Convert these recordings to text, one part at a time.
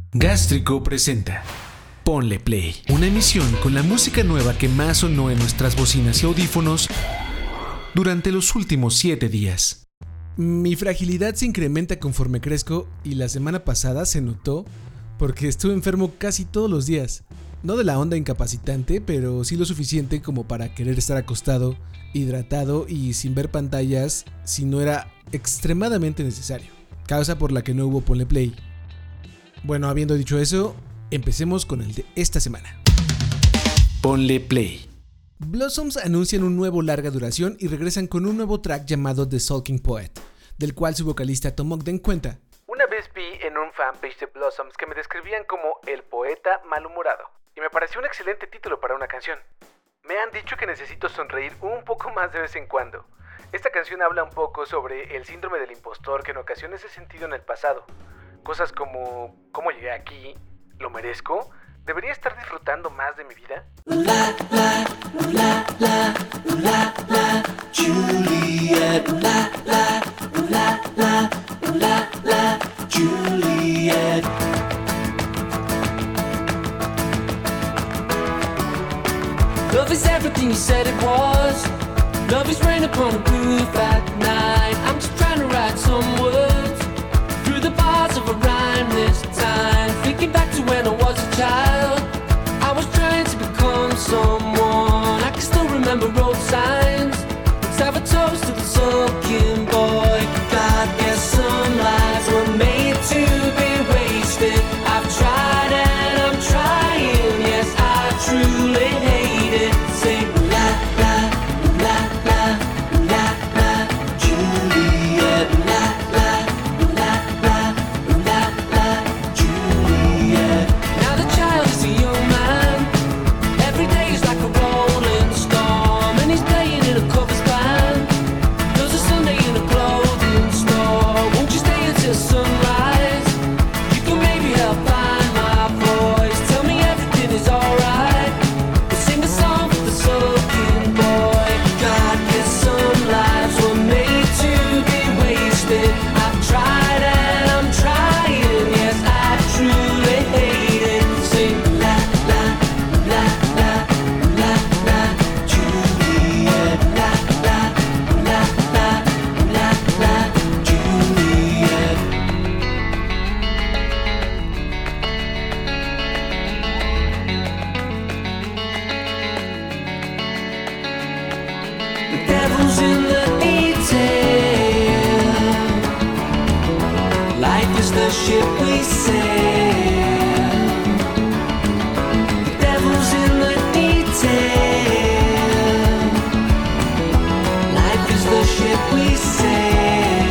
Gástrico presenta Ponle Play, una emisión con la música nueva que más sonó en nuestras bocinas y audífonos durante los últimos 7 días. Mi fragilidad se incrementa conforme crezco y la semana pasada se notó porque estuve enfermo casi todos los días. No de la onda incapacitante, pero sí lo suficiente como para querer estar acostado, hidratado y sin ver pantallas si no era extremadamente necesario. Causa por la que no hubo Ponle Play. Bueno, habiendo dicho eso, empecemos con el de esta semana. Ponle Play. Blossoms anuncian un nuevo larga duración y regresan con un nuevo track llamado The Sulking Poet, del cual su vocalista Tom Ogden cuenta: Una vez vi en un fanpage de Blossoms que me describían como el poeta malhumorado, y me pareció un excelente título para una canción. Me han dicho que necesito sonreír un poco más de vez en cuando. Esta canción habla un poco sobre el síndrome del impostor que en ocasiones he sentido en el pasado. Cosas como, ¿cómo llegué aquí? ¿Lo merezco? ¿Debería estar disfrutando más de mi vida? La, la, la, la, la, la, Juliet. La, la, la, la, la, la, Juliet. Love is everything you said it was. Love is rain upon a roof at night. I'm just trying to write some words through the bars of a rhyme this time. Thinking back to when I was a child, I was trying to become someone. I can still remember road signs. Let's have a toast to the sulking boy. God, guess some lives were made to be wasted. I've tried and I'm trying. Yes, I truly hate it. Sing la la la la la la, Juliet. La la la la la la, Juliet. Now the child is a young man. Every day is like a rolling storm, and he's playing in a covers band. There's a Sunday in a clothing store. Won't you stay until sunrise? You can maybe help find my voice. Tell me everything is alright. We'll sing a song for the sulking boy. God, guess some lives were made to be wasted. I've tried and I'm trying. Yes, I truly hate it. Sing la la la la la la, Juliet. La la la la la la, Juliet. The devil's in the detail. Life is the ship we sail. The devil's in the detail. Life is the ship we sail.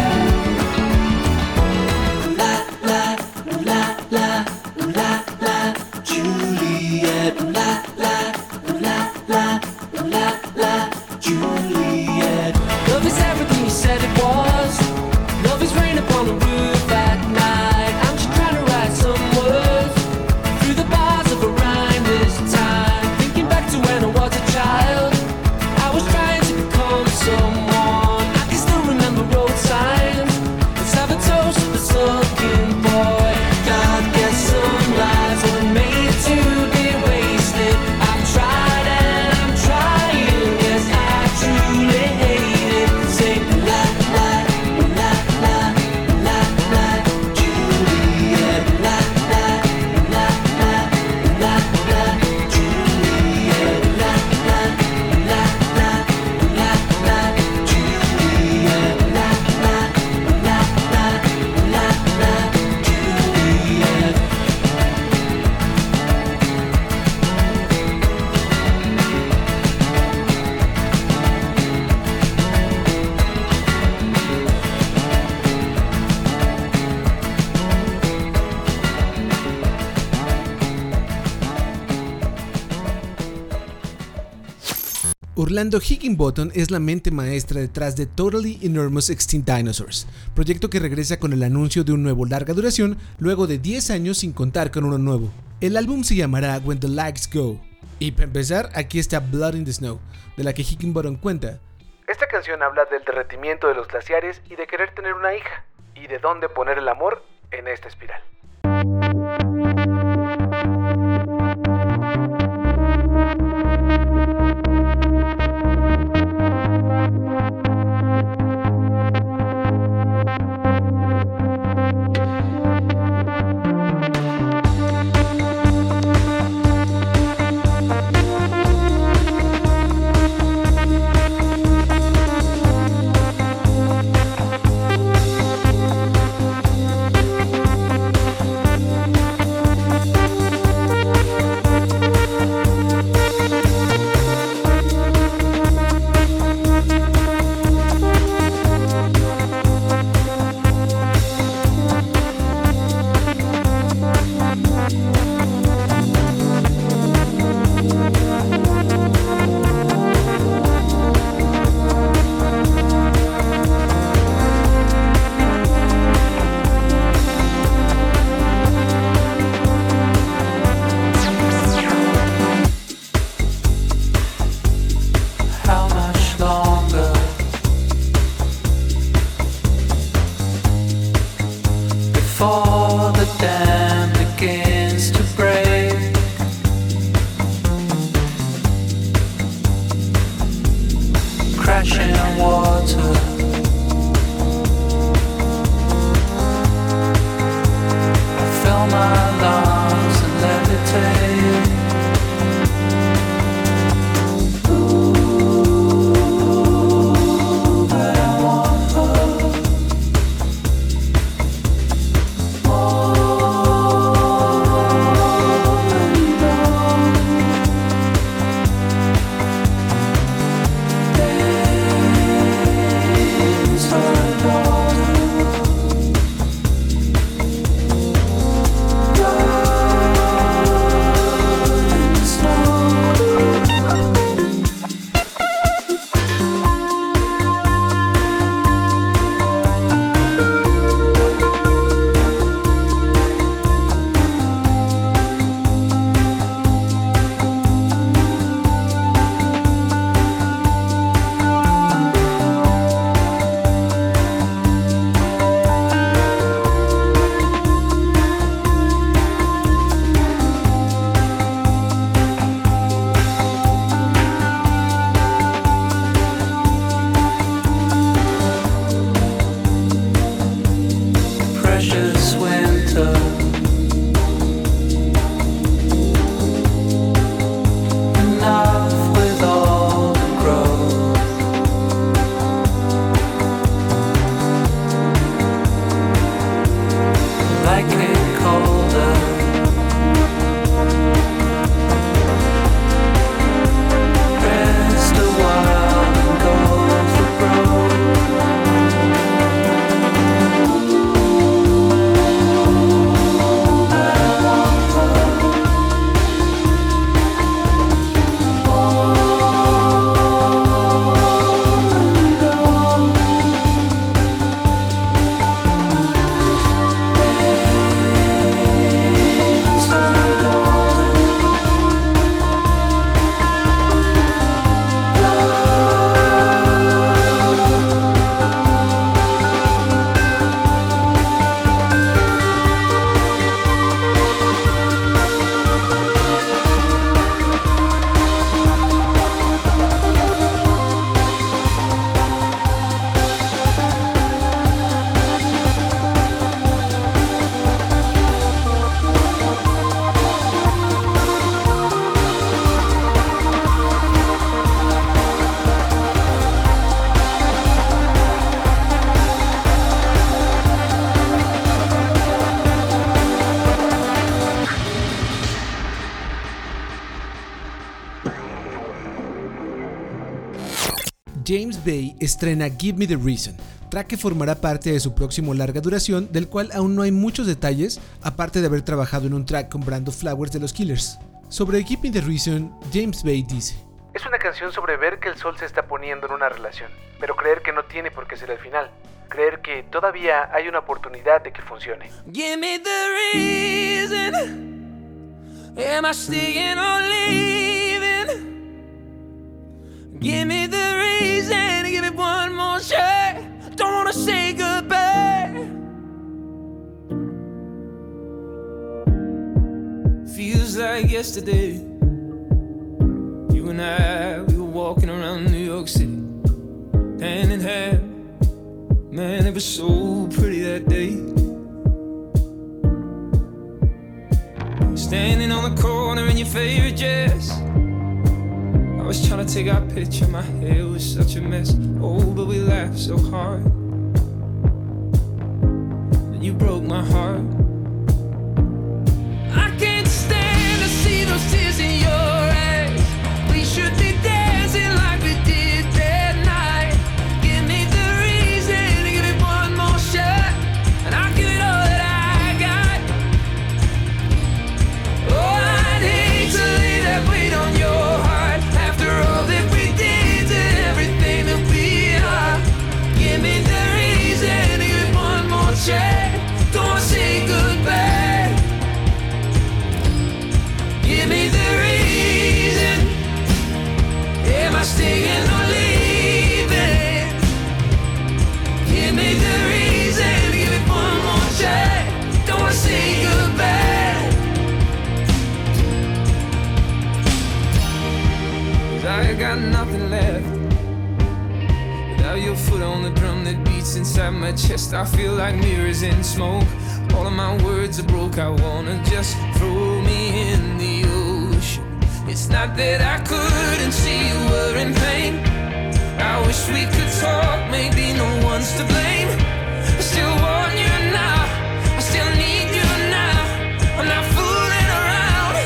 La la la la la la, Juliet. La la la la la la, Juliet. Love is everything you said it was. Love is rain upon the roof at night. I'm just trying to write some words through the bars of a rhyme this time. Thinking back to when I was a child, I was trying to become someone. I can still remember road signs. Let's have a toast to the sulking boy. God, guess some lives were made to be wasted. I've tried and I'm trying. Yes, I truly hate it. Sing la la la la la la, Juliet. La la la la la la, Juliet. La la la la la la, Juliet. La la la la la la, Juliet. Orlando Higginbottom es la mente maestra detrás de Totally Enormous Extinct Dinosaurs, proyecto que regresa con el anuncio de un nuevo larga duración luego de 10 años sin contar con uno nuevo. El álbum se llamará When the Lights Go. Y para empezar, aquí está Blood in the Snow, de la que Higginbottom cuenta: Esta canción habla del derretimiento de los glaciares y de querer tener una hija, y de dónde poner el amor en esta espiral. before the dam begins to break. Crashing in water. I fill my lungs and levitate. James Bay estrena Give Me the Reason, track que formará parte de su próximo larga duración, del cual aún no hay muchos detalles, aparte de haber trabajado en un track con Brando Flowers de los Killers. Sobre Give Me the Reason, James Bay dice: es una canción sobre ver que el sol se está poniendo en una relación, pero creer que no tiene por qué ser el final. Creer que todavía hay una oportunidad de que funcione. Give me the reason. Am I staying or leaving? Give me the reason. Give me one more shot. Don't wanna say goodbye. Feels like yesterday. You and I, we were walking around New York City, hand in hand. Man, it was so pretty that day. Standing on the corner in your favorite dress. I was trying to take our picture, my hair was such a mess. Oh, but we laughed so hard. And you broke my heart. I can't stand to see those tears in your eyes. We should be dancing like we did that night. Give me the reason, give me one more shot, and I'll give it all that I got. Oh, I'd hate to lay that weight on your heart. After all that we did and everything that we are. Give me the reason, give me one more shot. Don't say goodbye. chest, I feel like mirrors in smoke. All of my words are broke, I wanna just throw me in the ocean. It's not that I couldn't see you were in pain. I wish we could talk, maybe no one's to blame. I still want you now, I still need you now. I'm not fooling around.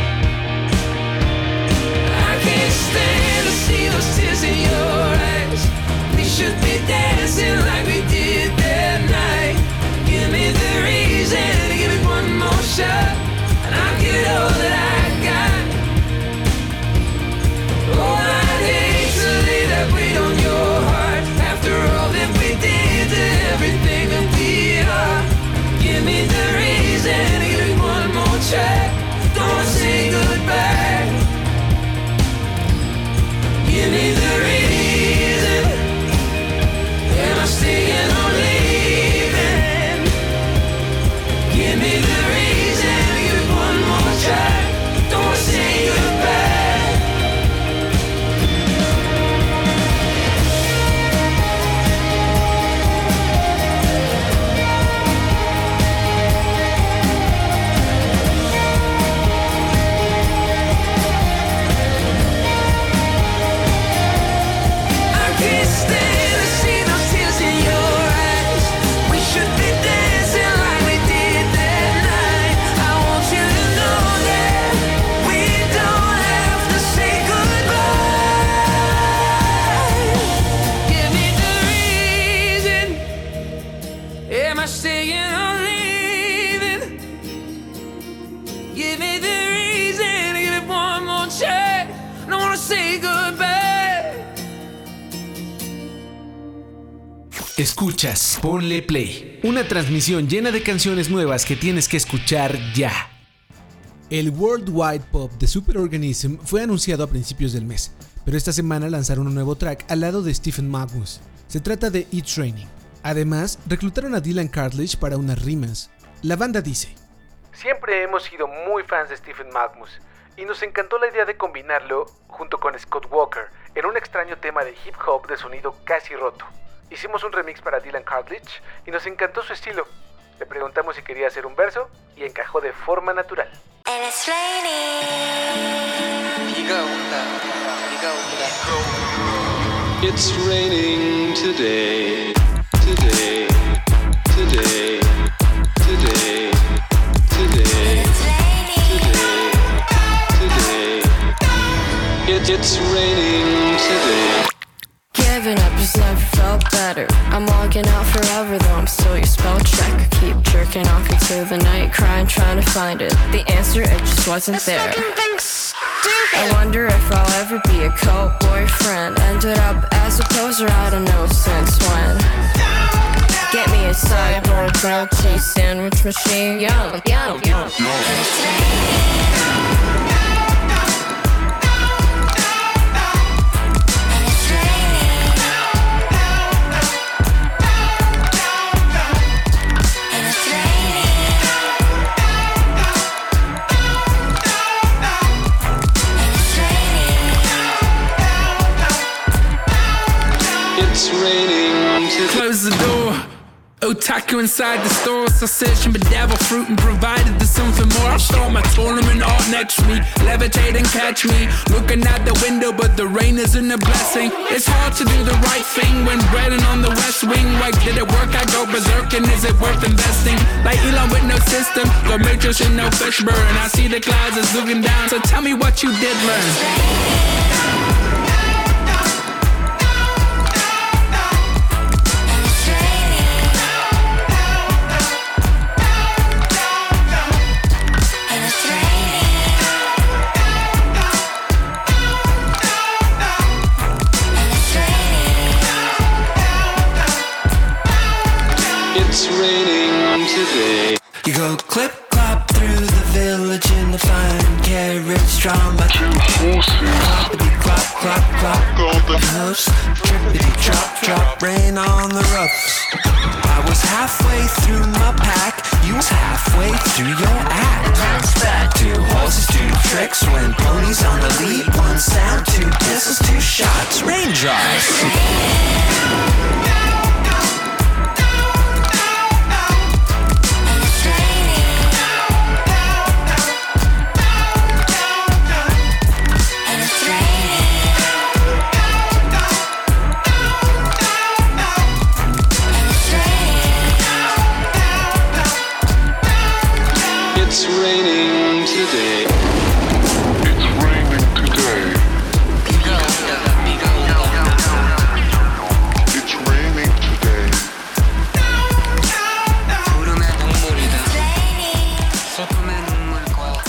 I can't stand to see those tears in your eyes. We should be dancing like we did that night. Give me the reason, give me one more shot, and I'll give it all that I got. Oh, I'd hate to lay that weight on your heart. After all that we did to everything that we are. Give me the reason, give me one more try. Don't wanna say goodbye. Give me the reason. Am I staying or leaving? Give me the reason, give me one more try. Don't wanna say goodbye. Escuchas Ponle Play, una transmisión llena de canciones nuevas que tienes que escuchar ya. El Worldwide Pop de Superorganism fue anunciado a principios del mes, pero esta semana lanzaron un nuevo track al lado de Stephen Magnus. Se trata de It's Raining. Además, reclutaron a Dylan Cartledge para unas rimas. La banda dice: siempre hemos sido muy fans de Stephen Magnus y nos encantó la idea de combinarlo junto con Scott Walker en un extraño tema de hip hop de sonido casi roto. Hicimos un remix para Dylan Cartledge y nos encantó su estilo. Le preguntamos si quería hacer un verso y encajó de forma natural. It's raining today, today, today, today, today, today, today. It's raining today. Giving up just never felt better. I'm logging out forever though I'm still your spell checker. Keep jerking off into the night, crying, trying to find it. The answer, it just wasn't there. I wonder if I'll ever be a cult boyfriend. Ended up as a poser, I don't know since when. Get me a cyborg grilled cheese sandwich machine. Yum, yum, yum. It's raining today. Close the door. Otaku inside the store, so search and bedevil fruit and provided there's something more. I'll start my tournament art next week. Levitate and catch me looking out the window, but the rain isn't a blessing. It's hard to do the right thing when breading on the West Wing. Like, did it work? I go berserk, and is it worth investing? Like Elon with no system, go matrix and no fish burn. I see the clouds is looking down, so tell me what you did learn. It's raining today. You go clip clop through the village in the fine carriage drawn by two horses. Cloppity clop clop clop golden hoofs. Trippity drop drop rain on the roofs. I was halfway through my pack, you was halfway through your act. Bounce back. Two horses, two tricks, when ponies on the lead. One sound, two whistles, two shots, raindrops. It's raining today. It's raining today. It's raining today. 구름의 눈물이다. 슬픔의 눈물과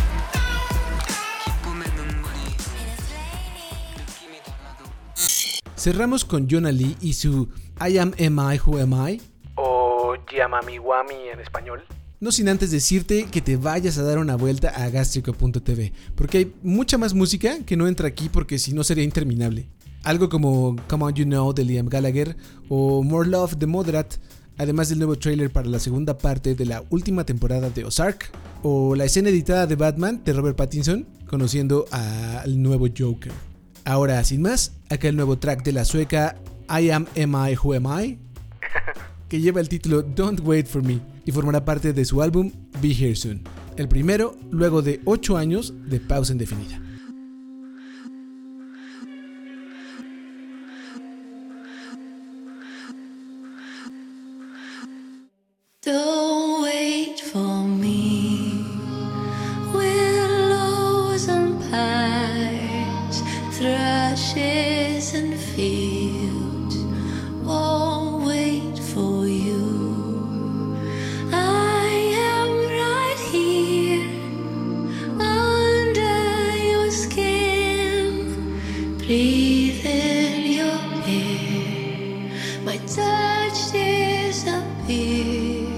기쁨의 눈물이 느낌이 달라도. Cerramos con Yona Lee y su I Am I Who Am I, O Yamami Wami en español. no sin antes decirte que te vayas a dar una vuelta a gastrico.tv, porque hay mucha más música que no entra aquí porque si no sería interminable. Algo como Come On You Know de Liam Gallagher o More Love de Moderat, además del nuevo trailer para la segunda parte de la última temporada de Ozark, o la escena editada de Batman de Robert Pattinson conociendo al nuevo Joker. Ahora, sin más, acá el nuevo track de la sueca I Am I Who Am I, que lleva el título Don't Wait For Me y formará parte de su álbum Be Here Soon, el primero luego de 8 años de pausa indefinida. Don't wait for me. Willows and pines, thrushes and fields won't wait for you. I am right here under your skin, breathe in your air. My touch disappears.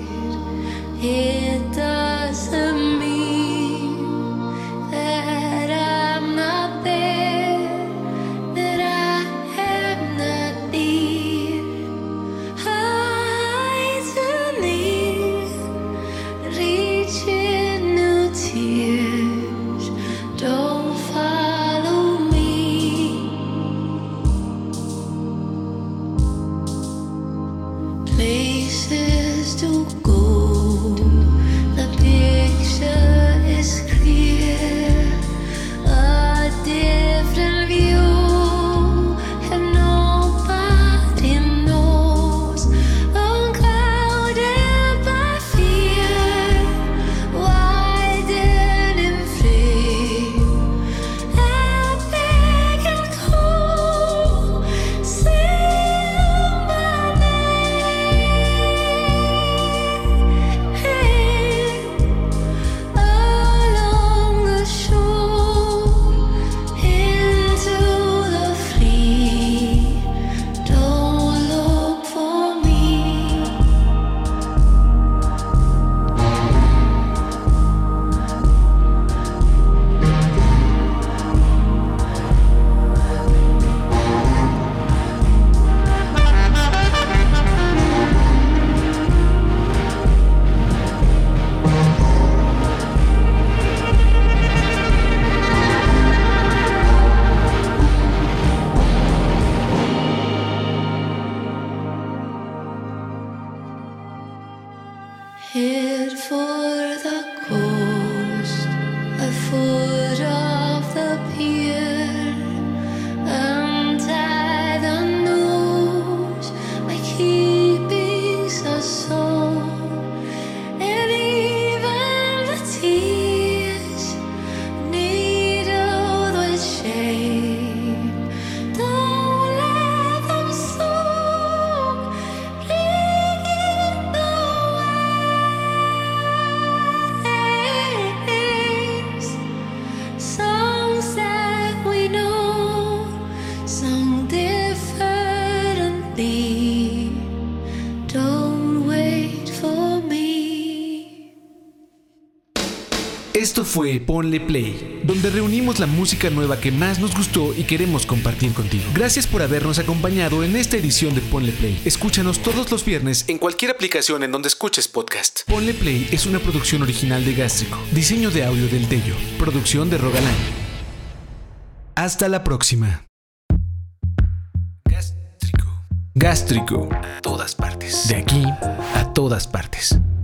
It doesn't mean that I'm not there, that I am not near. I too near, reaching new tears. Don't follow me. Places to go. The picture is clear, a different view, and nobody knows. Unclouded by fear, widened in flame, epic and cold, sing my along the shore, into the fleet. Don't look for me. Head for the coast, a foot off the pier, untie the noose, my keeping's a song, and even the tears needled with shame. Don't let them soak, bringing the songs that we know, sung differently. Don't wait for me. Esto fue Ponle Play, donde reunimos la música nueva que más nos gustó y queremos compartir contigo. Gracias por habernos acompañado en esta edición de Ponle Play. Escúchanos todos los viernes en cualquier aplicación en donde escuches podcast. Ponle Play es una producción original de Gástrico. Diseño de audio del Tello. Producción de Rogalán. Hasta la próxima. Gástrico. Gástrico. A todas partes. De aquí a todas partes.